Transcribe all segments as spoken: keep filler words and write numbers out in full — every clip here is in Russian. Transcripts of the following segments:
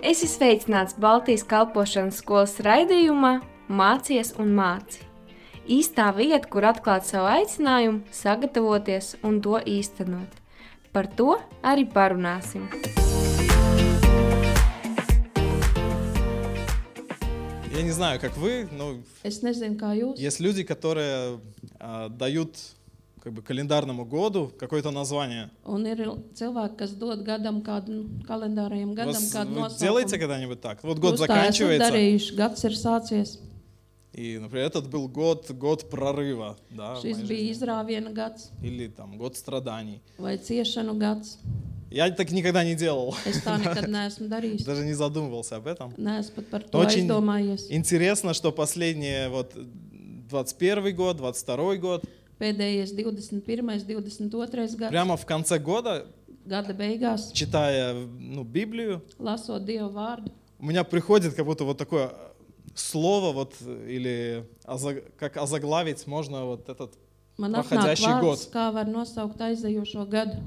Esi sveicināts Baltijas kalpošanas skolas raidījumā Mācies un māci. Īstā vieta, kur atklāt savu aicinājumu, sagatavoties un to īstenot. Par to arī parunāsim. Я не знаю, как вы, но Es nezinu, kā jūs. есть люди, которые а, дают как бы календарному году какое-то название. Un ir cilvēki, kas dod gadam kādu kalendārajam gadam Вас- kādu вы nosaukumu. делаете когда-нибудь так? Вот год Jūs tā esat заканчивается, darījuši, gads ir sācies. и, например, этот был год, год прорыва, да, в Šis моей bija жизни. izrāviena gads Или там год страданий. vai ciešanu gads. Я так никогда не делал, Es tā nekad neesmu darījis. даже не задумывался об этом. Neesmu pat par to Очень aizdomājies. интересно, что последние вот двадцать первый год, двадцать второй год, Pēdējais divdesmit pirmais, divdesmit otrais gads, прямо в конце года, gada beigās, читая ну, Библию, lasot Dieva vārdu, у меня приходит как будто вот такое слово, вот, или озаг- как озаглавить можно вот этот man atnāk проходящий vārds, год. kā var nosaukt aizejošo gadu.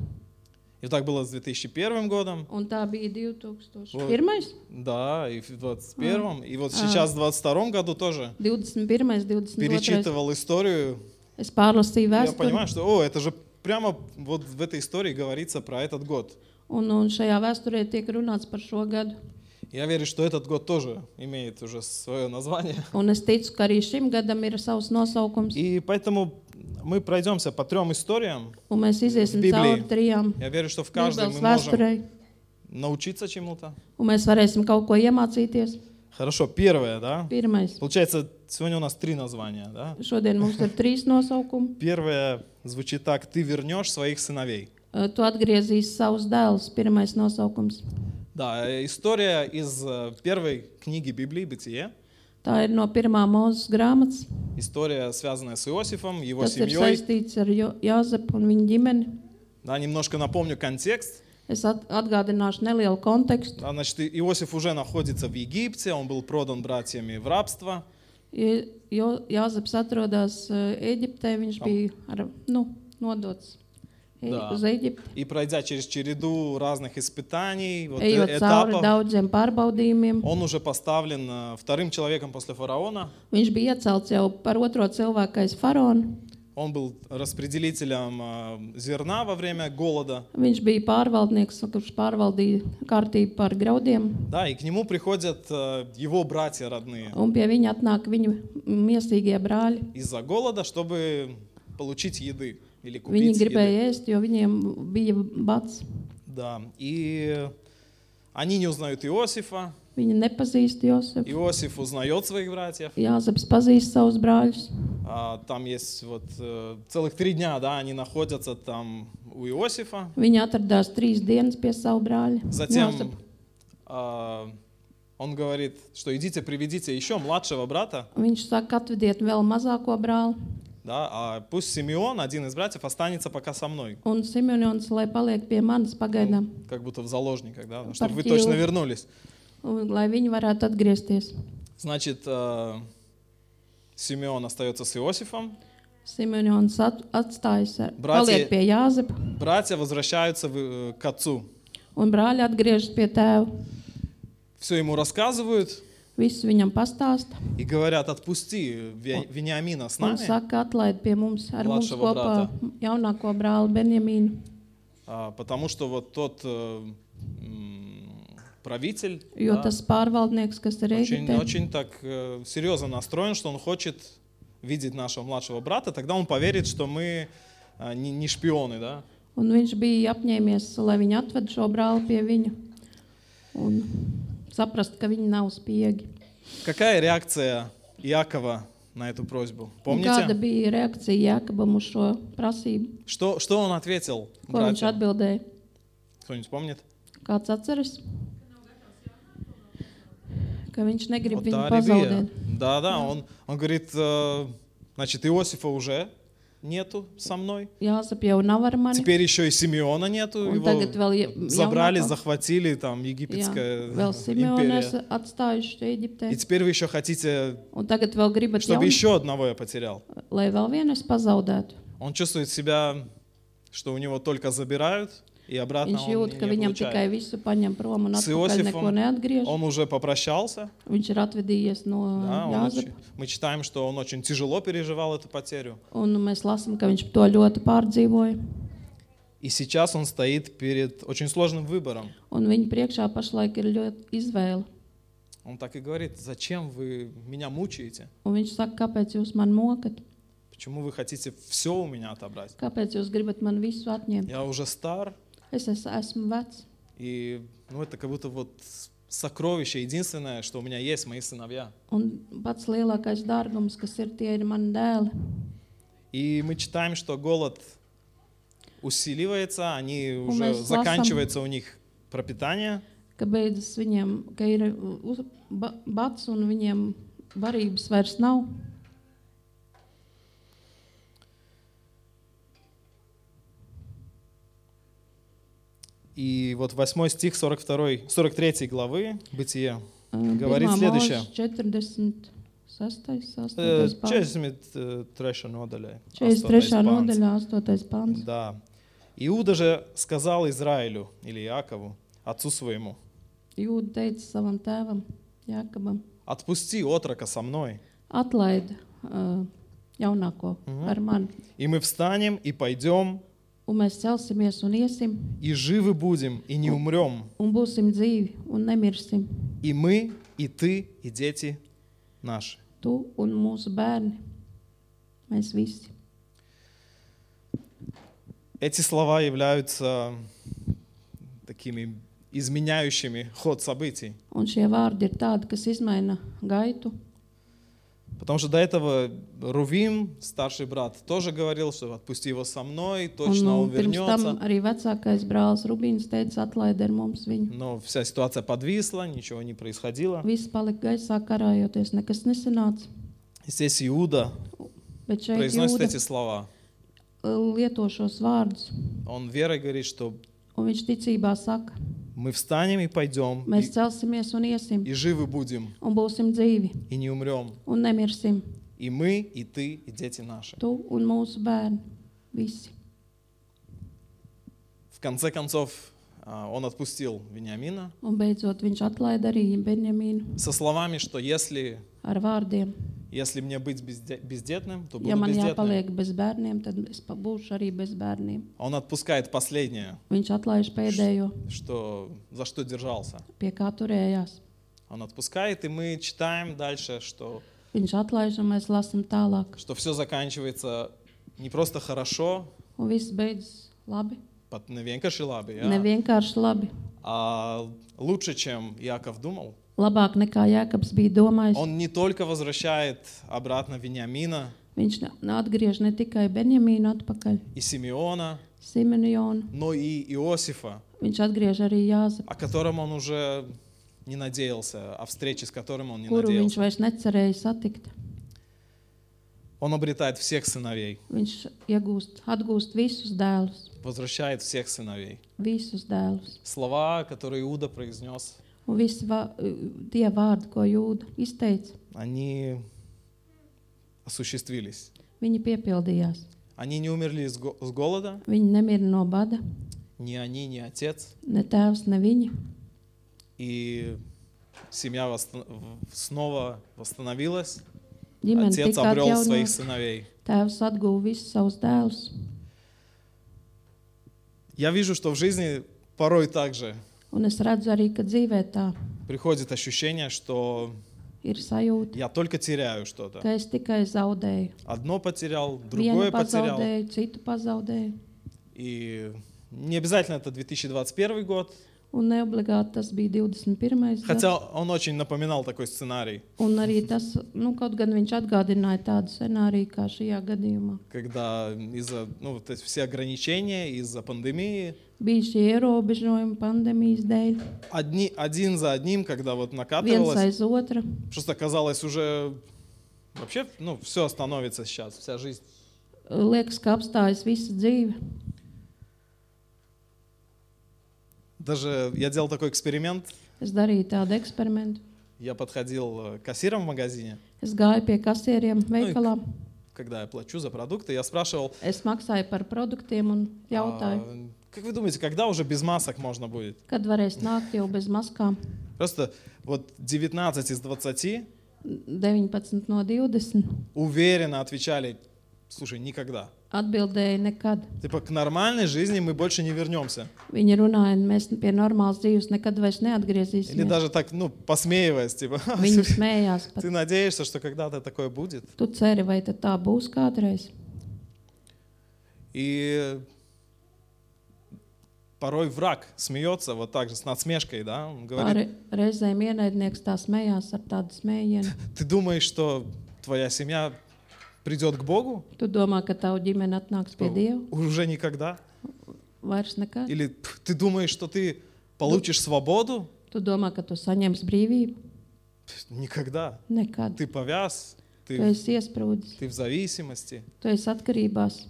И так было с две тысячи первым годом, Un tā bija divi tūkstoši pirmais, да, и в двадцать первом, и вот А. сейчас в двадцать втором году тоже divdesmit pirmais, divdesmit otrais. перечитывал историю. Es pārlasīju Я vēsturi, понимаю, что, о, это же прямо вот в этой истории говорится про этот год. un, un šajā vēsturē tiek runāts par šo gadu. Я верю, что этот год тоже имеет уже свое название. Un es ticu, ka arī šim gadam ir savs nosaukums, И поэтому мы пройдемся по трем историям. un mēs iziesim Библии. cauri trijām Я верю, что в каждой Bībeles мы можем vēsturei, научиться чему-то. un mēs varēsim kaut ko iemācīties. Хорошо, первое, да? Pirmais. Получается, сегодня у нас три названия, да? Šodien mums ir trīs nosaukumi. Первое звучит так: ты вернешь своих сыновей. Uh, Tu atgriezīsi savus dēlus, pirmais nosaukums. Да, э, история из э, первой книги Библии, Бытие. Tā ir no pirmā Mūzes grāmatas. История, связанная с Иосифом, его Tas ir семьей. saistīts ar Jo- Jāzepu un viņa ģimeni. Да, немножко напомню контекст. Es at- atgādināšu nelielu kontekstu. Да, значит, И- Иосиф уже находится в Египте, он был продан братьями в рабство. Ja- Jo Jāzeps atrodas uh, Eģiptē, viņš Tam. bija ar, nu, nodots e- Da. uz Eģipti. И пройдя через череду разных испытаний, вот, э, Ejot cauri этапов, daudziem pārbaudījumiem, он уже поставлен э, вторым человеком после фараона. viņš bija iecelts jau par otro cilvēku aiz faraona. Он был распределителем э, зерна во время голода. Viņš bija pārvaldnieks, kurš pārvaldīja kārtību par graudiem, Да, и к нему приходят э, его братья родные un pie viņa atnāk viņu miesīgie brāļi. из-за голода, чтобы получить еды или Viņi купить еды. gribēja ēst, jo viņiem bija bats. Да, и они не узнают Иосифа. Viņi nepazīst Josefu. Иосиф узнает своих братьев. Jāzeps pazīst savus brāļus. А, там есть вот э, целых три дня, да, они находятся там у Иосифа. Viņi atradās trīs dienas pie savu brāļa. Затем Jāzepa. а, он говорит, что идите, приведите еще младшего брата, Viņš saka, atvediet vēl mazāko brāli. да, а пусть Симеон, один из братьев, останется пока со мной. Un Simeons, lai paliek pie manis pagaidām, Как будто в заложниках, да, чтобы вы Партию. точно вернулись. un, lai viņi varētu atgriezties. Значит, э, Симеон остается с Иосифом, Simeons at, atstājas, ar- Brāļi- paliek pie Jāzepa, братья возвращаются в- э, к отцу. un brāļi atgriežas pie tēva. Все ему рассказывают Visu viņam pastāsta и говорят: отпусти Ве- Вениамина с un нами, saka, atlaid pie mums ar mums Mladšavo kopā jaunāko brāli Benjamīnu, а, потому что вот тот э, м, правитель, jo да, tas pārvaldnieks, kas ir очень, Eģiptē, очень так э, серьезно настроен, что он хочет видеть нашего младшего брата, тогда он поверит, что мы э, не, не шпионы, да? un viņš bija apņēmies, lai viņi atved šo brāli pie viņa un saprast, ka viņi nav spiegi. Какая реакция Иакова на эту просьбу? Un kāda Помните? bija reakcija Jākabam uz šo prasību? Что, что он ответил Ko viņš братьям? atbildēja? Кто-нибудь помнит? Kāds atceras? Ka viņš negrib Вот viņu та религия. pazaudēt. Да, да, он, он говорит, э, значит, Иосифа уже нету со мной. Jāsap jau nav ar mani. Теперь еще и Симеона нету, Un его tagad vēl ja- забрали, jaunāko- захватили, там, Jā, египетская vēl Simeonu империя. esat atstājuši Eģiptē. И теперь вы еще хотите, Un tagad vēl gribat, чтобы jaun, еще одного я потерял. lai vēl vienu es pazaudētu. Он чувствует себя, что у него только забирают, и обратно Viņš он jūt, не, ka не viņam tikai получает. visu paņem prom un С atpakaļ neko Иосифом neatgriež. он уже попрощался. Viņš ir atvedījies no Да, он Jāzepa. очень- мы читаем, что он очень тяжело переживал эту потерю. Un mēs lasām, ka viņš to ļoti pārdzīvoja. И сейчас он стоит перед очень сложным выбором. Un viņa priekšā pašlaik ir ļoti izvēle. Он так и говорит: зачем вы меня мучаете? Un viņš saka, kāpēc jūs man mokat? Почему вы хотите все у меня отобрать? Kāpēc jūs gribat man visu atņemt? Я уже стар, Es es, esmu vecs. и ну, это как будто вот сокровище единственное, что у меня есть, мои сыновья. Un pats lielākais dārgums, kas ir, tie ir mani dēli. И мы читаем, что голод усиливается, они Un уже mēs lasām, заканчивается у них пропитание. ka beidzas viņiem, ka ir uz, ba, bats un viņiem barības vairs nav. И вот восьмой стих сорок второй, сорок третьей главы Бытие Uh, говорит Pirmā следующее. mūža četrdesmit sestais, Э, astotais pants. четыридесят третья nodaļa, četrdesmit astotais trešā pants. nodaļā, astotais pants. Да. Иуда же сказал Израилю или Иакову, отцу своему: Jūda teica savam tēvam, Jākabam, отпусти отрока со мной, atlaid uh, jaunāko Mhm. ar mani, и мы встанем и пойдем, un mēs celsimies un iesim, и живы будем, и не умрем, un būsim dzīvi un nemirsim. и мы, и ты, и дети наши. Tu un mūsu bērni, mēs visi. Эти слова являются такими изменяющими ход событий. Un šie vārdi ir tādi, kas izmaina gaitu. Потому что до этого Рувим, старший брат, тоже говорил, что отпусти его со мной, Un, точно un он pirms tam вернется. arī vecākais brālis Rubīns teica, atlaid ar mums viņu. Но вся ситуация подвисла, ничего не происходило. Viss palika gaisā karājoties, nekas nesanāca. И здесь Иуда Bet šeit произносит Jūda эти слова. lieto šos vārdus, Он верой говорит, что un viņš ticībā saka, мы встанем и пойдем, mēs и, celsimies un iesim, и живы будем, un būsim dzīvi, и не умрем. un nemirsim. И мы, и ты, и дети наши. Tu un mūsu bērni, visi. В конце концов, а, он отпустил Вениамина Un beidzot viņš atlaida arī Benjamīnu со словами, что если, ar vārdiem. если мне быть безде- бездетным, то Ja буду man бездетным. jāpaliek bez bērniem, tad es pa- būšu arī bez bērniem. Он отпускает последнее, Viņš atlaiž pēdējo, что, за что держался. pie kā turējās. Он отпускает, и мы читаем дальше, что, Viņš atlaiž, un mēs lasām tālāk. что все заканчивается не просто хорошо, Un viss beidzas labi. под невенкаши лаби, Ne vienkārši labi. а лучше, чем Иаков думал. Labāk nekā Jākabs bija domājis. Он не только возвращает обратно Вениамина Viņš ne- atgriež ne tikai Benjamīnu atpakaļ, и Симеона, Simonionu, но и Иосифа, viņš atgriež arī Jāzepu, о котором он уже не надеялся, о встрече с которым он не kuru viņš надеялся. vairs necerēja satikt. Он обретает всех сыновей, Viņš iegūst, atgūst visus dēlus, возвращает всех сыновей. visus dēlus. Слова, которые Иуда произнес, Un visi vā, tie vārdi, ko Jūda izteica, они осуществились. viņi piepildījās. Они не умерли с го- с голода, Viņi nemira no bada, ни они, ни отец. ne tēvs, ne viņi. И семья восстан- в- снова восстановилась. Ģimene Отец tika обрел своих atjaunota, сыновей. tēvs atguva visus savus dēlus. Я вижу, что в жизни порой также Un es redzu arī, ka dzīvē tā приходит ощущение, что ir sajūta, я только теряю что-то. ka es tikai zaudēju. Одно потерял, Vienu другое потерял. pazaudēju, citu pazaudēju. И не обязательно это две тысячи двадцать первый год, Un neobligāti tas bija divdesmit pirmais gads. хотя он очень напоминал такой сценарий, Un arī tas, nu, kaut gan viņš atgādināja tādu scenāriju kā šajā gadījumā. когда из-за ну, вот эти все ограничения, из-за пандемии, Bija šie ierobežojumi pandēmijas dēļ, одни, один за одним, когда вот viens накатывалось, aiz otra. просто казалось уже вообще, ну, все остановится сейчас, вся жизнь. Liekas, ka apstājas visa dzīve. Даже я делал такой эксперимент, Es darīju tādu eksperimentu. я подходил э, к кассирам в магазине, Es gāju pie kasieriem veikalā. когда я плачу за продукты, я спрашивал, Es maksāju par produktiem un jautāju, а, Как вы думаете, когда уже без масок можно будет? Kad varēs nākt jau bez maskām? Просто вот девятнадцать из двадцати deviņpadsmit no divdesmit уверенно отвечали, слушай, никогда. atbildēja nekad. Типа к нормальной жизни мы больше не вернемся. Viņi runāja, mēs pie normālas dzīves nekad vairs Или neatgriezīsimies. даже так, ну, посмеиваясь, типа, Viņi smējās pat. ты надеешься, что когда-то такое будет? Tu ceri, vai tad tā būs kādreiz? И порой враг смеется вот так же, с насмешкой, да? Он говорит, Re, reizēm ienaidnieks tā smējās ar tādu smējienu. ты думаешь, что твоя семья придет к Богу? Tu domā, ka tavu ģimene atnāks pie Dieva? Уже никогда? Vairs nekad. Или ты думаешь, что ты получишь свободу? Tu domā, ka tu saņemsi brīvību? Никогда. Nekad. Ты повяз, Tu ты, esi iesprūdis, ты в зависимости. tu esi atkarībās.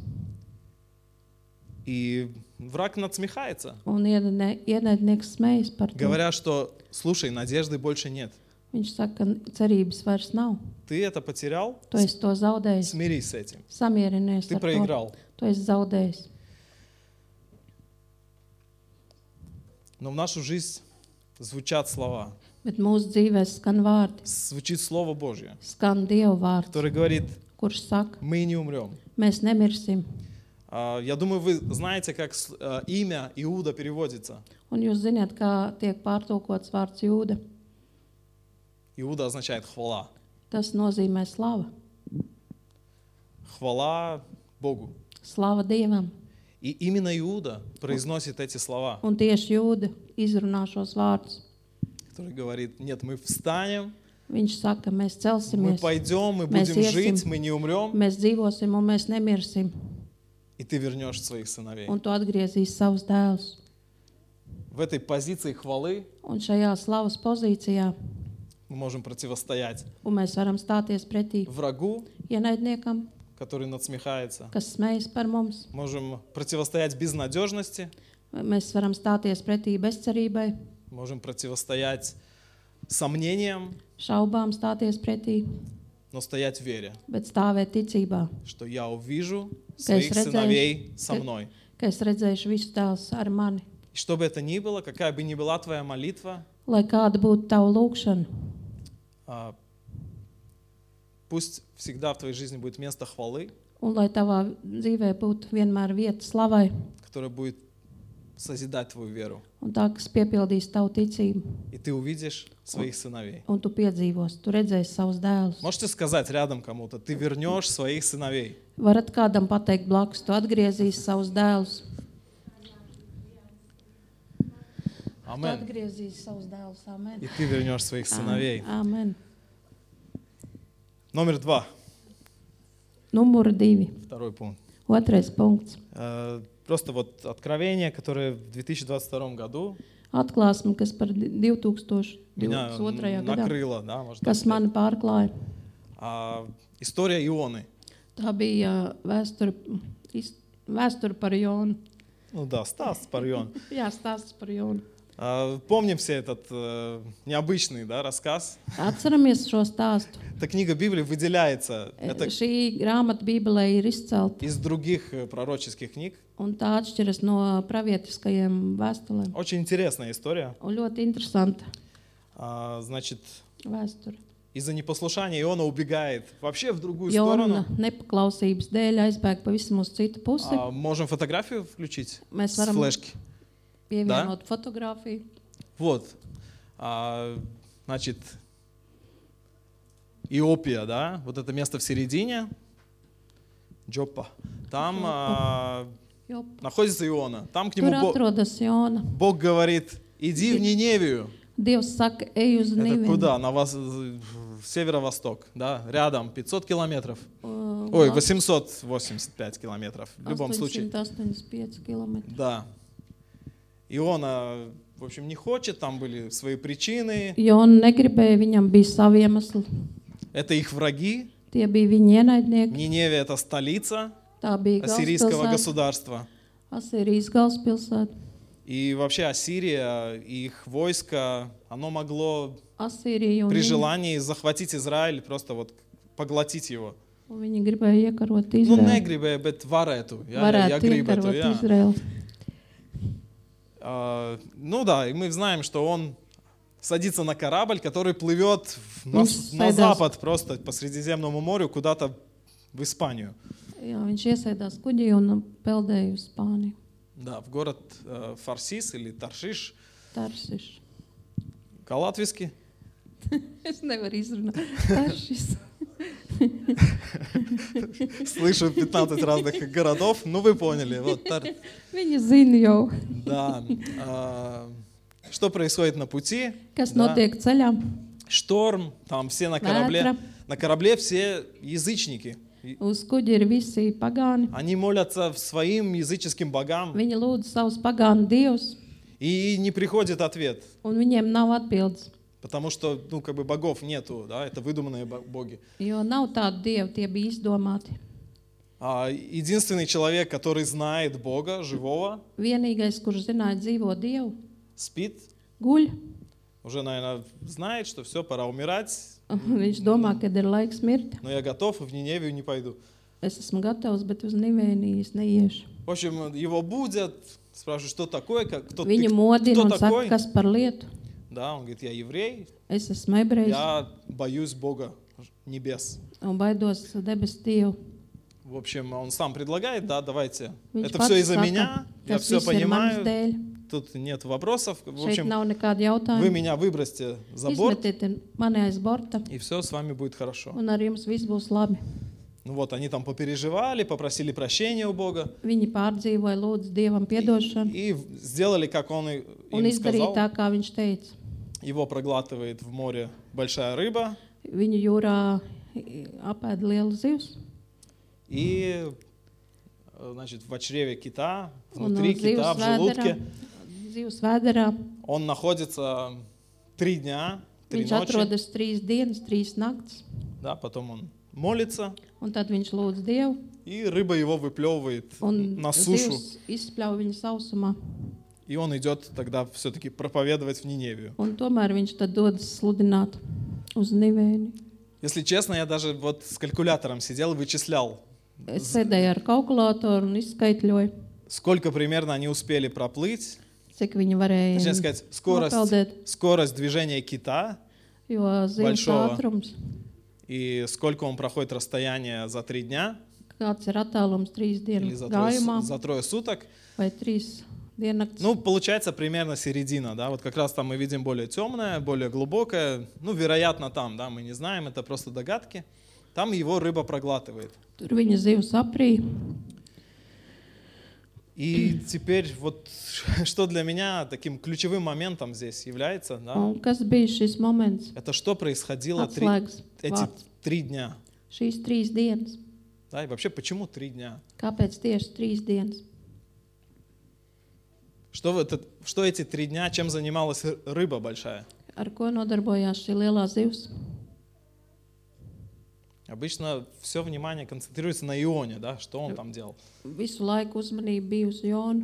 И враг надсмехается, Un ienaidnie- ienaidnieks smējas par to. говоря, что, слушай, надежды больше нет. Viņš saka, ka cerības vairs nav. Ты это потерял, Tu esi to zaudējis. смирись с этим. Samierinies Ты ar to. проиграл. Tu esi zaudējis. Но в нашу жизнь звучат слова. Bet mūsu dzīvē skan vārdi, Звучит Слово Божье, skan Dieva vārds, которое говорит, kurš saka, мы не умрем. mēs nemirsim. А, Я думаю, вы знаете, как с- а, имя Иуда переводится. Un jūs zināt, kā tiek pārtulkots vārds Jūda. Иуда означает хвала. Tas nozīmē slava. Хвала Богу. Slava Dievam. И именно Иуда произносит эти слова, Un tieši Jūda izrunā šos vārdus. который говорит, нет, мы встанем, Viņš saka, mēs мы celsimies, пойдем, мы Mēs будем iesim. жить, мы не умрем, mēs dzīvosim un mēs nemirsim. и ты вернешь своих сыновей. Un tu atgriezīs savus dēlus. В этой позиции хвалы Un šajā slavas pozīcijā мы можем противостоять un mēs varam stāties pretī врагу, ienaidniekam, который надсмехается. kas smējas par mums. Можем противостоять безнадежности, Mēs varam stāties pretī bezcerībai, можем противостоять сомнениям, šaubām stāties pretī, но стоять в вере, bet stāvēt ticībā, что я увижу Ka es своих redzēšu, сыновей со ka- мной. ka es redzēšu visus tēlus ar mani. И что бы это ни было, какая бы ни была твоя молитва, Lai kāda būtu tava lūkšana, а, пусть всегда в твоей жизни будет место хвалы, un lai tavā dzīvē būtu vienmēr vieta slavai, которое будет созидать твою веру. un tā, kas piepildīs tavu ticību, И ты увидишь своих сыновей. un tu piedzīvos, tu redzēsi savus dēlus. Можете сказать рядом кому-то, ты вернешь своих сыновей. Varat kādam pateikt blakus, tu atgriezīsi savus dēlus. Tu Амен. atgriezīsi savus dēlus. Amen. И ты вернешь своих сыновей. Amen. Номер два, Numur divi. второй пункт. Otrais punkts. Э, Просто вот откровение, которое в две тысячи двадцать втором году Atklāsme, kas par меня divtūkstoš divdesmit otrajā gadā, накрыло, да, можно так kas mani сказать. pārklāja. А, История Ионы. Tā bija vēsture, is- vēsture par Jonu. Ну да, Стас Парьон. Jā, stāsts par Jonu. А, Помним все этот э, необычный, да, рассказ. Atceramies šo stāstu. Эта книга Библии выделяется. Это Šī grāmata Bībelē ir izcelta, из других э, пророческих книг. un tā atšķiras no pravietiskajiem vēstulēm. Очень интересная история. Un ļoti interesanta А, Значит, vēsture. из-за непослушания Иона убегает вообще в другую Jona сторону. nepaklausības dēļ aizbēga pavisam uz citu pusi. А, Можем фотографию включить Mēs с varam флешки. pievienot fotogrāfiju. Вот. А, Значит, Иопия, да, вот это место в середине, Джоппа. Там а, Jo находится Иона. Там к нему tur Бог, atrodas Jona. Бог говорит, иди в Ниневию. Dievs saka, ej uz Это Nīvenu. куда? На вас, в северо-восток, да, рядом, пятьсот километров. Uh, Ой, восемьсот восемьдесят пять километров. В любом случае. astoņsimt astoņdesmit pieci kilometri. Да. Иона, в общем, не хочет, там были свои причины. Jona negribēja, viņam bija savi iemesli. Это их враги. Tie bija viņa ienaidnieki. Ниневия — это столица Tā bija ассирийского galvaspilsēta, государства. Asīrijas galvaspilsēta. И вообще Ассирия, их войско, оно могло Asīrija un при viņi, желании захватить Израиль, просто вот поглотить его. un viņi gribēja iekarot Ну, Izraelu. негрибе, bet varētu. Jā, jā, ja Varētu gribētu, iekarot jā. Izraelu. А, ну да, и мы знаем, что он садится на корабль, который плывет на, Viņš на sēdās- запад, просто по Средиземному морю, куда-то в Испанию. Jā, viņš iesēdās kuģī un peldēja uz Spāniju. Да, в город э, Фарсис или Таршиш, Taršiš. по-латвийски. Es nevaru izrunāt. Taršis. Слышу пятнадцать разных городов, ну вы поняли. Вот, Тар- Viņa zina jau, да. А, что происходит на пути? kas Да. notiek ceļā. Шторм, там все на корабле. Vētra. На корабле все язычники. И Uz kuģa ir visi pagāni. Они молятся своим языческим богам, Viņi lūdz savus pagānu dievus, и не приходит ответ. un viņiem nav atbildes. Потому что, ну, как бы богов нету, да, это выдуманные бо- боги. Jo nav tādu dievu, tie bija izdomāti. А единственный человек, который знает Бога, живого, Vienīgais, kurš zināja dzīvo dievu, спит, guļ. уже, наверное, знает, что все, пора умирать, Viņš domā, ka ir laiks mirt. но я готов, и в Ниневию не пойду. Es esmu gatavs, bet uz Nivēniju es neiešu. В общем, его будят, спрашивают, что такое, как, кто, ты, Viņu modina кто un saka, такой? kas par lietu. Да, он говорит, я еврей, Es esmu ebrejs я боюсь Бога небес. un baidos debesu dievu. В общем, он сам предлагает, да, давайте. Viņš Это pats все из-за saka, меня, я tas все viss ir manas понимаю, dēļ. тут нет вопросов. В Šeit общем, nav nekāda вы jautājuma. меня выбросьте за борт, Izmetiet mani aiz borta, и все с вами будет хорошо. un ar jums viss būs labi. Ну вот, они там попереживали, попросили прощения у Бога Viņi pārdzīvoja, lūdzu Dievam piedošanu и сделали, как он и- un им izdarīja сказал. tā, kā viņš teica. Его проглатывает в море большая рыба, Viņu jūrā apēda liela zivs, и, э, значит, в чреве кита, un внутри кита, zivs в vēderā, желудке, zivs vēderā он находится три дня, три viņš ночи, atrodas trīs dienas, trīs naktis, да, потом он молится, un tad viņš lūdz Dievu, и рыба его выплевывает un на сушу, zivs izspļauj viņu sausumā. и он идет тогда все-таки проповедовать в Ниневию. Un tomēr viņš tad dodas sludināt uz Nivēni. Если честно, я даже вот с калькулятором сидел и вычислял, Es sēdēju ar kalkulātoru un izskaitļoju, сколько примерно они успели проплыть. cik viņi varēja Точнее сказать, скорость, nopeldēt, скорость движения кита jo zivs Большого. ātrums, и сколько он проходит расстояние за три дня kāds ir attālums trīs или dienu за трое, gājumā за трое суток. vai trīs diennakts. Ну, получается примерно середина, да, вот как раз там мы видим более темное, более глубокое, ну, вероятно, там, да, мы не знаем, это просто догадки. Там его рыба проглатывает. Tur viņa zivs aprīja. И теперь вот что для меня таким ключевым моментом здесь является, да, Un kas bija šis moments? это что происходило три, Atslēgas эти vārds. три дня. Šīs trīs dienas. Да, и вообще, почему три дня? Kāpēc tieši trīs dienas? Что, в этот, что эти три дня, чем занималась ры- рыба большая? Ar ko nodarbojās šī lielā zivs? Обычно все внимание концентрируется на Ионе, да, что он там делал. Visu laiku uzmanība bija uz Jonu.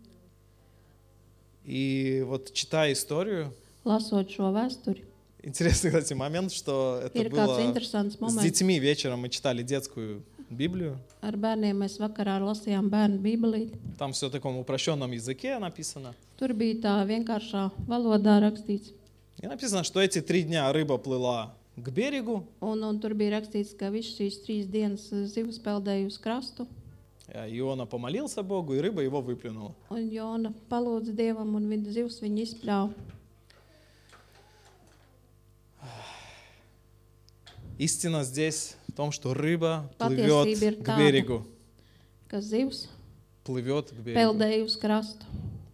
И вот читая историю, Lasot šo vēsturi, интересный, кстати, момент, что это ir kāds было interesants с moments. детьми вечером, мы читали детскую Библию. Ar bērniem mēs vakarā lasījām bērnu bībelīti. Там все в таком упрощенном языке написано. Tur bija tā vienkāršā valodā rakstīts. И написано, что эти три дня рыба плыла к берегу, Un, un tur bija rakstīts, ka visas šīs trīs dienas zivs peldēja uz krastu. а Иона помолился Богу, и рыба его выплюнула. Un Jona palūdza Dievam, un viņa zivs viņu izpļāva. Истина здесь в том, что рыба Patiesība плывет ir к tāda. берегу. Ka zivs Плывет к берегу. peldēja uz krastu.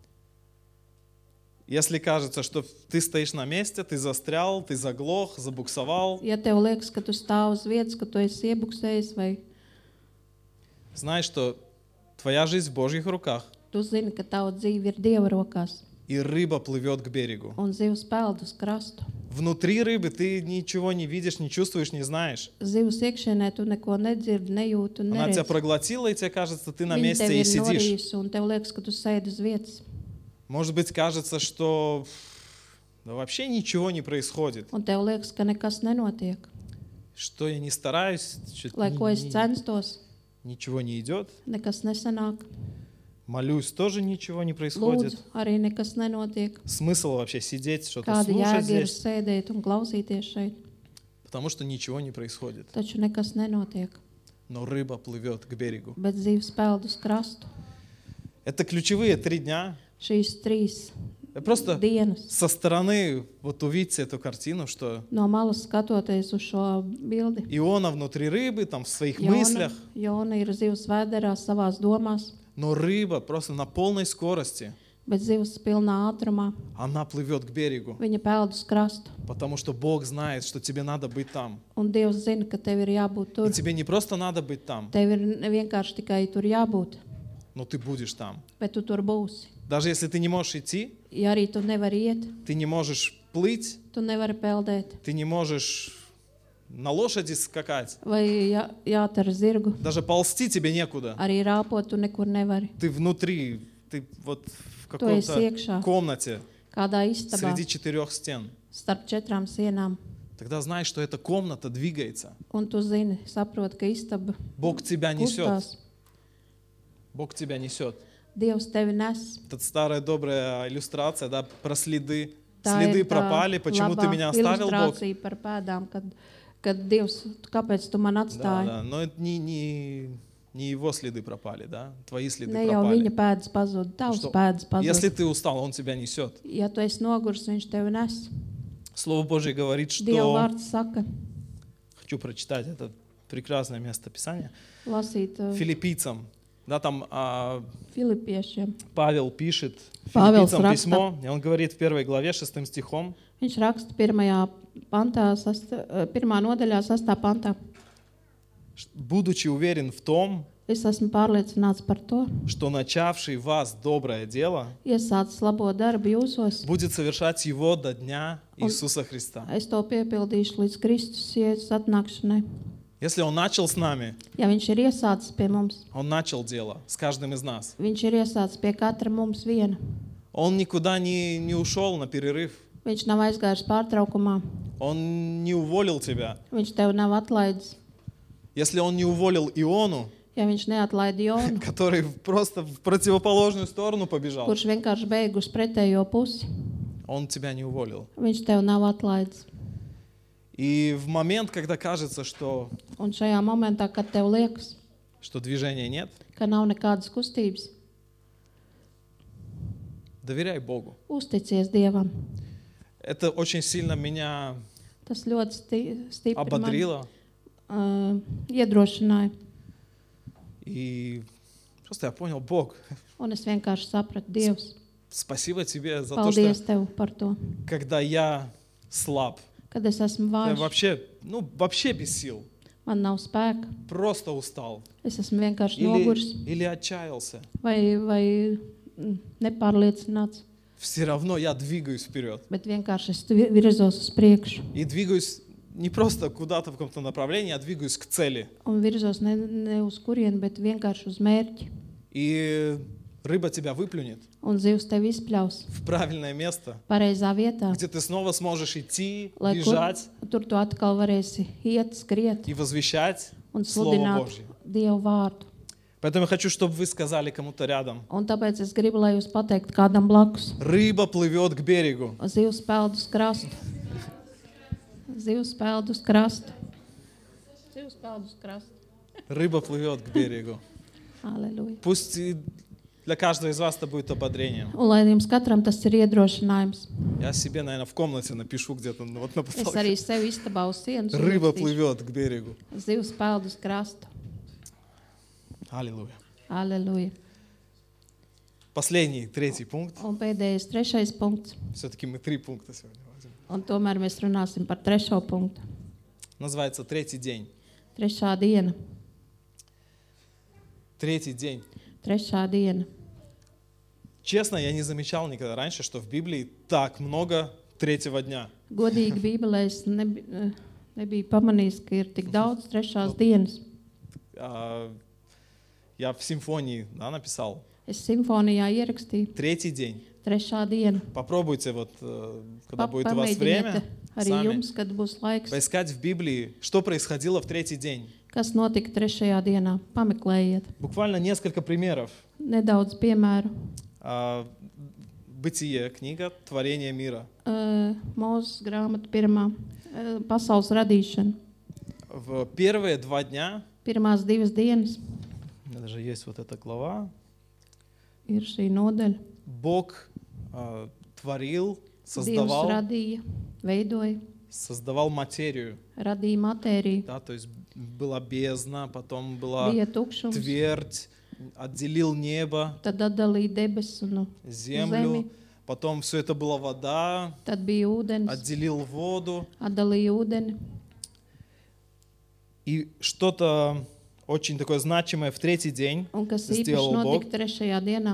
Если кажется, что ты стоишь на месте, ты застрял, ты заглох, забуксовал, Ja tev liekas, ka tu stāv uz vietas, ka tu esi iebuksējis, vai знай, что твоя жизнь в Божьих руках, tu zini, ka tava dzīve ir Dieva rokās, и rыба плывет к берегу. un zivs peld uz krastu. Внутри рыбы ты ничего не видишь, не чувствуешь, не знаешь. Zivs iekšienē tu neko nedzirdi, nejūti un Она тебя neredzi. проглотила, и тебе кажется, ты на Viņa месте tev и ir сидишь. norījusi, un tev liekas, ka tu sēdi uz vietas. Может быть, кажется, что да вообще ничего не происходит, Un tev liekas, ka nekas nenotiek. что я не стараюсь, что-то Lai ko es ни- ни- censtos, ничего не идет. nekas nesanāk. Молюсь, тоже ничего не происходит. Lūdzu, arī nekas nenotiek. Смысл вообще сидеть, что-то Kāda слушать jēga ir здесь? sēdēt un klausīties šeit? Потому что ничего не происходит. Taču nekas nenotiek, Но рыба плывет к берегу. bet zivs peld uz krastu. Это ключевые три дня. Šīs trīs Просто dienas. со стороны вот увидите эту картину, что No malas skatoties uz šo bildi, Иона внутри рыбы, там в своих мыслях, Jona, Jona ir zivs vēderā savās domās, но рыба просто на полной скорости, bet zivs pilnā ātrumā. она плывет к берегу, Viņa peld uz krastu. потому что Бог знает, что тебе надо быть там. Un Dievs zina, ka tev ir jābūt И tur. тебе не просто надо быть там, Tev ir vienkārši tikai tur jābūt, но ты будешь там. bet tu tur būsi. Даже если ты не можешь идти, Ja arī tu nevari iet, ты не можешь плыть, tu nevari peldēt. ты не можешь на лошади скакать, Vai jā, jātar zirgu, даже ползти тебе некуда. arī rāpot tu nekur nevari. Ты внутри, ты вот в Tu esi какой-то iekšā, комнате kādā istabā, среди четырех стен. starp četrām sienām. Тогда знай, что эта комната двигается. Un tu zini, saproti, ka istaba Бог тебя несет. kustās. Бог тебя несет. Dievs tevi nes. Это старая добрая иллюстрация, да, про следы. Tā Следы ir tā пропали, почему ты labā меня оставил, Бог? ilustrācija par pēdām, kad, kad Dievs, kāpēc tu man Да, atstāji? да, но это не, не, не его следы пропали, да, твои следы Ne jau пропали. viņa pēdas pazūd, tavs Что, pēdas Если pazūd. ты устал, Он тебя несет. Ja tu esi nogurs, viņš tevi nes. Слово Божье говорит, Dieva что... vārds saka, Хочу прочитать это прекрасное место Писания. lasīt uh, Филиппийцам. Да, там а, Filipiešiem. Павел пишет Павел филиппийцам raksta. письмо, и он говорит в первой главе, шестым стихом, Viņš raksta pirmajā pantā, sasta, uh, pirmā nodaļā, sastā pantā. будучи уверен в том, Es esmu pārliecināts par to, что начавший в вас доброе дело iesācis labo darbu jūsos. будет совершать его до дня Иисуса Христа. Es to piepildīšu līdz Kristus Jēzus atnākšanai. Если Он начал с нами, Ja viņš ir iesācis pie mums, Он начал дело с каждым из нас. viņš ir iesācis pie katra mums viena. Он никуда не, не ушел на перерыв. Viņš nav aizgājis pārtraukumā, Он не уволил тебя. viņš tev nav atlaidis. Если Он не уволил Иону, Ja viņš neatlaida Jonu, который просто в противоположную сторону побежал, kurš vienkārši beig uz pretējo pusi, Он тебя не уволил. viņš tev nav atlaidis. И в момент, когда кажется, что, Un šajā momentā, kad tev liekas, что движения нет, ka nav nekādas kustības, доверяй Богу. uzticies Dievam. Это очень сильно меня Tas ļoti sti stipri man ободрило. uh, iedrošināja. И просто я понял, Бог, Un es vienkārši sapratu, Dievs, спасибо Тебе за то, paldies что Tev par to, когда я слаб, kad es esmu я vājš, вообще, ну, вообще без сил, man nav spēka, просто устал es esmu vienkārši noguris или, или отчаялся, vai, vai mm, nepārliecināts, все равно я двигаюсь вперед. bet vienkārši es vi- virzos uz priekšu И двигаюсь не просто куда-то в каком-то направлении, а двигаюсь к цели. un virzos ne, ne uz kurienu, bet vienkārši uz mērķi. И рыба тебя выплюнет Un zivs tev izpļaus в правильное место, pareizā vietā, где ты снова сможешь идти, lai kur, бежать tur tu atkal varēsi iet, skriet и возвещать un Слово sludināt Божье. Dievu vārdu. Поэтому я хочу, чтобы вы сказали кому-то рядом. Un tāpēc es gribu, lai jūs pateikt kādam blakus. Рыба плывет к берегу. Zivs peld uz krastu. Zivs peld uz krastu. Zivs peld uz krastu. Рыба плывет к берегу. Aleluja. Пусть и для каждого из вас это будет ободрением. Un lai jums katram tas ir iedrošinājums. Я себе, наверное, в комнате напишу где-то ну, вот на Es потолке. arī sev istabā uz sienas Рыба uzrakstīšu. плывет к берегу. Zivs peld uz krastu. Аллилуйя. Aleluja. Последний, третий пункт. Un pēdējais, trešais punkts. Все-таки мы три пункта сегодня возьмем. Un tomēr mēs runāsim par trešo punktu. Называется «Третий день». Trešā diena. Третий день. Trešā diena. Честно, я не замечал никогда раньше, что в Библии так много третьего дня. Godīgi Bībelē es nebi, eh, nebiju pamanījis, ka ir tik daudz trešās dienas. А, Я в симфонии, да, написал Es simfonijā ierakstīju «Третий день». trešā diena. Попробуйте, вот, э, когда Pa- будет у вас Pamēģiniet время, arī сами jums, kad būs laiks, поискать в Библии, что происходило в третий день. Kas notika trešajā dienā? Pameklējiet. Буквально несколько примеров. Nedaudz piemēru. А, Бытие, книга «Творение мира». Uh, Mūzes grāmata pirmā. Uh, pasaules radīšana. В первые два дня, Pirmās divas dienas у меня даже есть вот эта глава, ir šī nodaļa. Бог а, творил, Dievs создавал, radīja, veidoja, создавал материю. radīja matēriju. Да, то есть была бездна, потом была Bija tukšums, твердь, отделил небо, tad atdalīja debesis un землю, zemi. потом все это была вода, Tad bija ūdens, отделил воду. atdalīja ūdeni. И что-то очень такое значимое в третий день Un kas īpaši сделал Бог. notika trešajā dienā.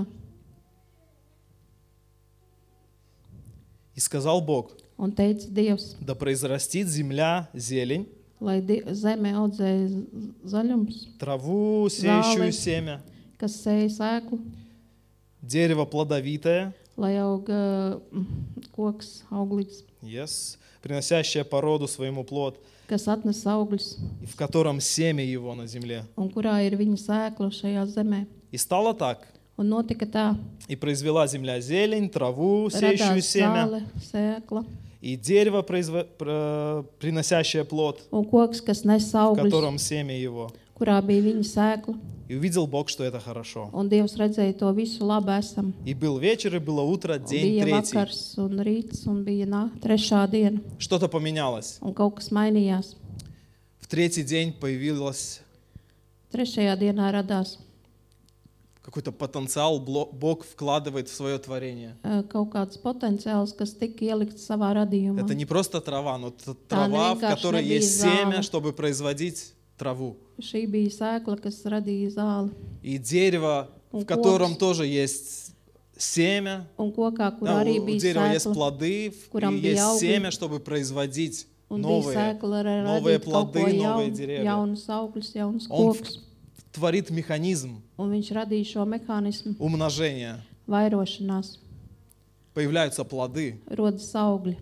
И сказал Бог: Un teica Dievs, да произрастит земля зелень, lai di- zeme audzē z- zaļums, траву, сеющую Залы. семя, kas sēja sēklu, дерево плодовитое, lai aug uh, koks auglīgs, yes, приносящее по роду своему плод, kas atnes augļus, и в котором семя его на земле. un kurā ir viņa sēkla šajā zemē. И стало так. Un notika tā, И произвела земля зелень, траву, сеющую radās семя, zāle, sēkla, и дерево, произво- про- приносящее плод, un koks, kas nes в augļus, котором семя его. kurā bija viņa sēkla. И увидел Бог, что это хорошо. Un Dievs redzēja to visu labi esam. И был вечер, и было утро, Un день bija третий. vakars un rīts un bija nā, trešā diena. Что-то поменялось. Un kaut kas mainījās. В третий день появилось Trešajā dienā radās какой-то потенциал, бло- Бог вкладывает в свое творение. uh, kaut kāds potenciāls, kas tika ielikts savā radījumā. Это не просто трава, но т- трава, в vienkārši которой nebija есть семя, zāle. чтобы производить траву. Šī bija sēkla, kas radīja zāli. И дерево, в Un котором koks. тоже есть семя. Un kokā, kur Да, arī у у bija дерева есть sēkla, плоды, в- курам и bija есть augļi. семя, чтобы производить un bija новые. sēkla ar новые radīt kaut ko плоды, новые jaunu, деревья. jaunus augļus, jaunus Он в- kokus. творит механизм Un viņš radīja šo mehānismu умножения. vairošanās, Появляются плоды. rodas augļi.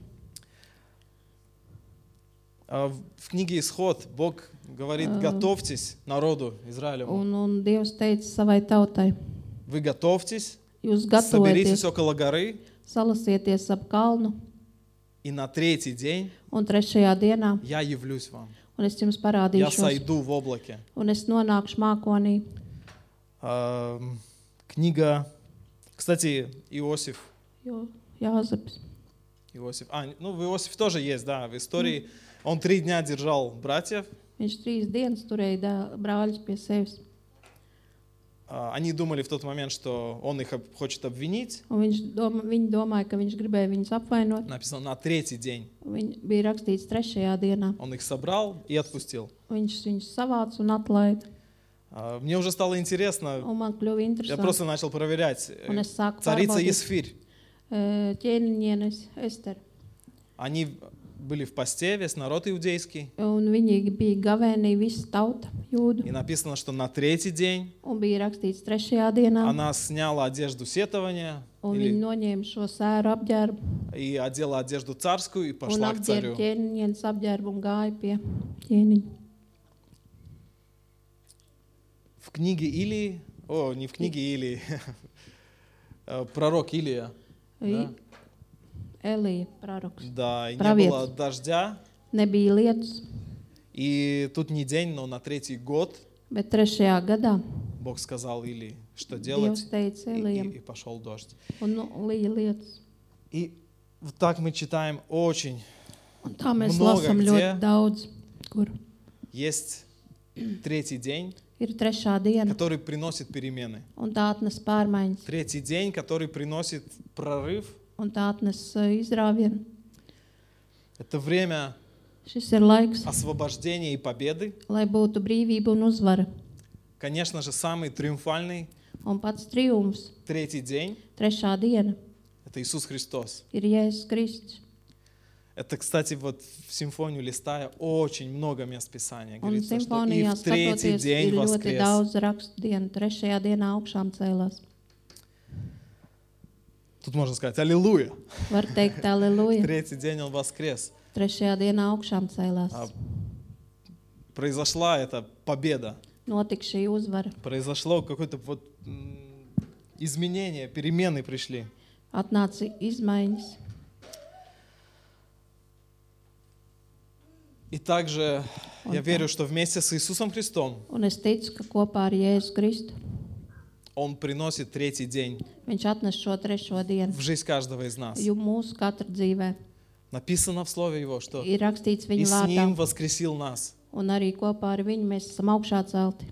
А В в книге «Исход» Бог говорит: готовьтесь народу Израилеву. Un, un Dievs teica savai tautai, Вы готовьтесь, jūs соберитесь gatavojieties, около горы, salasieties ap kalnu, и на третий день un trešajā dienā, я явлюсь вам. un es jums Я parādīšos, сойду в облаке. un es nonākšu mākonī. А, Книга, кстати, Иосиф. Jo Jāzeps. Иосиф. А, ну в Иосифе тоже есть, да, в истории. Он три дня держал братьев. Viņš trīs dienas turēja dā- brāļus pie sevis. А, Они думали в тот момент, что он их об- хочет обвинить. Un viņš doma, viņi domāja, ka viņš gribēja viņus apvainot. Написано на tretий день. Viņi bija rakstīts trešajā dienā. Он их собрал и отпустил. Viņš viņus savāca un atlaida. А, Мне уже стало интересно. Un man kļuva Я interesanti. просто начал проверять. Э, Un es sāku Царица pārbaudīt Есфирь. eh, ķēniņienes Esteru. Они были в посте, весь народ иудейский. Un viņi bija gavēnī, visa tauta, jūdu. И написано, что на третий день Un bija rakstīts trešajā dienā. она сняла одежду сетования Un viņi или- noņēma šo sēru apģērbu и одела одежду царскую и un пошла к apģērba царю. ķēniņienes apģērbu un gāja pie ķēniņa. В книге Илии, о, не в книге Илии, э, пророк Илия, I- Elija proroks. да, и не Правец. было дождя, Nebija lietus, и тут не день, но на третий год bet trešajā gadā Бог сказал Илии, что Dievs делать, teica и, Elijam и- и пошел дождь. un nu, lija lietus. И вот так мы читаем очень. Un tā mēs Много lasām где. ļoti daudz, kur Есть третий день, ir trešā diena, который приносит перемены. un tā atnes pārmaiņas, Третий день, который приносит прорыв. un tā atnes uh, izrāvienu. Это время Šis ir laiks, освобождения и победы. lai būtu brīvība un uzvara. Конечно же, самый триумфальный Un pats triumfs, третий день trešā diena, — это Иисус Христос. ir Jēzus Kristus. Это, кстати, вот в симфонию листая очень много мест Писания. Un Говорится, что и simfonijā в третий skatoties, день ir ļoti воскрес. daudz rakstu dienu. Trešajā dienā augšām cēlās. Тут можно сказать «Аллилуйя». Var teikt, aleluja. Третий день Он воскрес. Trešajā dienā augšām cēlās. А произошла эта победа, notika šī uzvara, произошло какое-то вот м, изменение, перемены пришли. atnāca izmaiņas. И также я Он верю, что вместе с Иисусом Христом Un es ticu, ka kopā ar Jēzu Kristu Он приносит третий день viņš atnes šo trešo dienu, в жизнь каждого из нас. jo mūsu katra dzīvē Написано в Слове Его, что ir rakstīts и viņa с Ним vārdā, воскресил нас. un arī kopā ar viņu mēs esam augšā celti.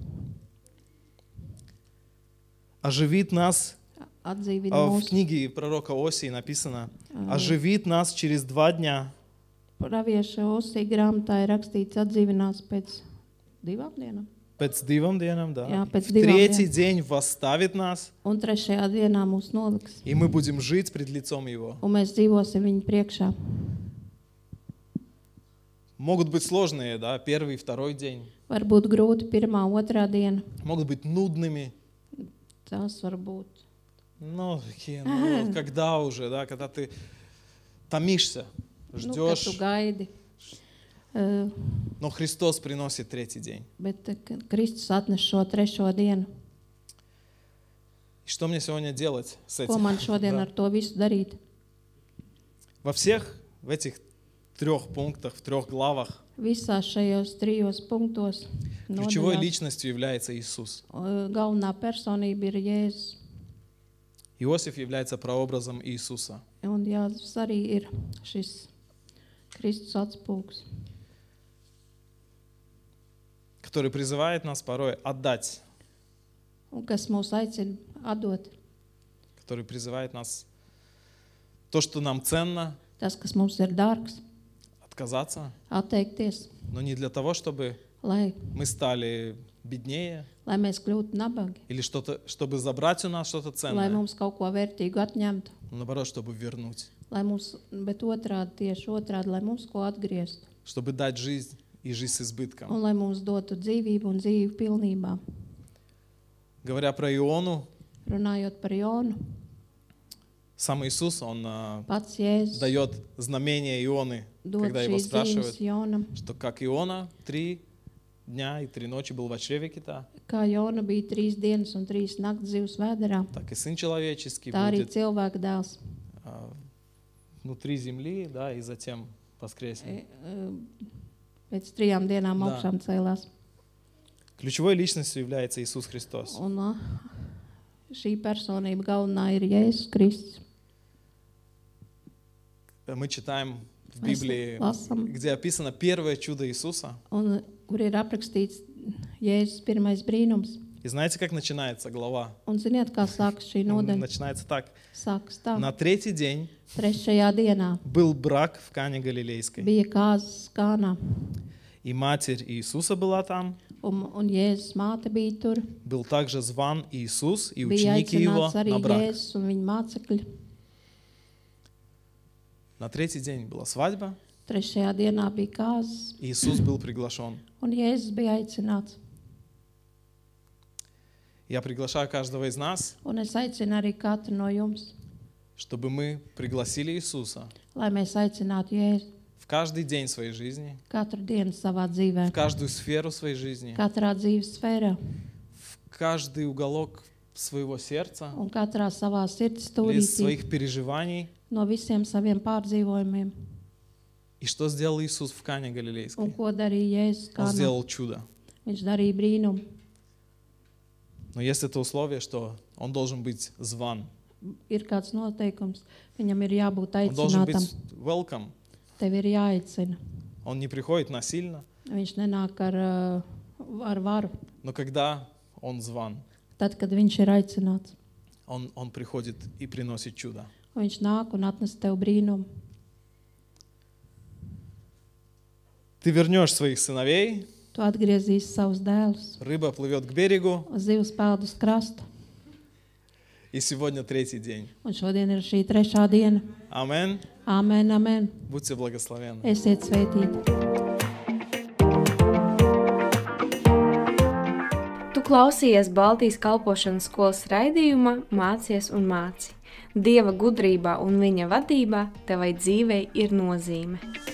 Оживит нас, Atdzīvina а, в mūsu. книге пророка Осии написано, оживит нас через два дня. Pravieša Osija grāmatā ir rakstīts atdzīvinās pēc divām dienām. Пēc divām dienām, да. Jā, pēc В divām третий dienām. день восставит нас, Un trešajā dienā mūs noliks. и мы будем жить пред лицом Его. Un mēs dzīvosim viņa priekšā. Могут быть сложные, да, первый, второй день. Var būt grūti pirmā, otrā diena. Могут быть нудными. Tas var būt. Ну, такие, ну, когда уже, да, когда ты томишься, Nu, kad ждешь. tu gaidi. Uh, Но Христос приносит третий день. bet uh, Kristus atnes šo trešo dienu. И что мне сегодня делать с Ko этим? man šodien Да. ar to visu darīt? Во всех, в этих трех пунктах, в трех главах, Visās šajos trijos punktos ключевой nodaļās, личностью является Иисус. uh, galvenā personība ir Jēzus. Иосиф является прообразом Иисуса. Un Jāzefs arī ir šis Kristus atspūgs, Который призывает нас порой отдать, un kas mūs aicina atdot который призывает нас то, что нам ценно, tas, kas mums ir dārgs, отказаться, atteikties, но не для того, чтобы lai, мы стали беднее lai mēs kļūtu nabagi, или что-то, чтобы забрать у нас что-то lai ценное, mums kaut ko vērtīgu atņemtu, но наоборот, чтобы вернуть, lai mums, bet otrādi, tieši otrādi, lai mums ko atgrieztu, чтобы дать жизнь и жизнь с избытком. un lai mums dotu dzīvību un dzīvi pilnībā. Говоря про Иону, Runājot par Jonu, сам Иисус, Он а, pats Jēzus дает знамение Ионы, dod когда его šīs спрашивают, zīmes Jonam, что как Иона три дня и три ночи был в чреве кита, kā Jona bija trīs dienas un trīs naktas zivs vēderā, так и Сын Человеческий tā arī будет cilvēka dēls а, внутри земли, да, и затем воскреснет. e, e, pēc trijām dienām Да. augšām cēlās. Ключевой личностью является Иисус Христос. Un uh, šī personība galvenā ir Jēzus Kristus. Мы читаем в Mēs Библии, lasām, где описано первое чудо Иисуса. un, kur ir aprakstīts Jēzus pirmais brīnums. И знаете, как начинается глава? Un ziniet, kā sākas šī Он nodaļa? начинается так. Sākas tā. На третий день Trešajā dienā был брак в Кане Галилейской. bija kāzas Kānā, И матерь Иисуса была там. un, un Jēzus māte bija tur. Был также зван Иисус и Bija ученики его aicināts arī на брак. Jēzus un viņa mācekļi. На третий день была свадьба. Trešajā dienā bija kāzas, И Иисус был приглашен. un Jēzus bija aicināts. Я приглашаю каждого из нас, Un es aicinu arī katru no jums, чтобы мы пригласили Иисуса lai mēs aicinātu Jēzu в каждый день своей жизни, katru dienu savā dzīvē, в каждую сферу своей жизни, katrā dzīves sfērā в каждый уголок своего сердца, un katrā savā sirds из stūrītī своих переживаний. no visiem saviem pārdzīvojumiem. И что сделал Иисус в Кане Un Галилейской? ko darīja Jēzus Он Kānā? сделал чудо. Viņš darīja brīnumu. Но есть это условие, что он должен быть зван. Ir kāds noteikums, viņam ir jābūt Он должен aicinātam. быть welcome. Tev ir jāaicina. Он не приходит насильно, Viņš nenāk ar, uh, ar varu. но когда он зван, Tad, kad viņš ir aicināts, он, он приходит и приносит чудо. viņš nāk un atnes tev brīnumu. Ты вернешь своих сыновей, Tu atgriezīsi savus dēlus, рыба плывет к берегу, zivs peld uz krasta. и сегодня третий день. Un šodien ir šī trešā diena. Амин. Āmen, amen. Будьте благословенны. Esiet svētīti. Tu klausījies Baltijas kalpošanas skolas raidījumā Mācies un māci. Dieva gudrībā un viņa vadībā tevai dzīvei ir nozīme.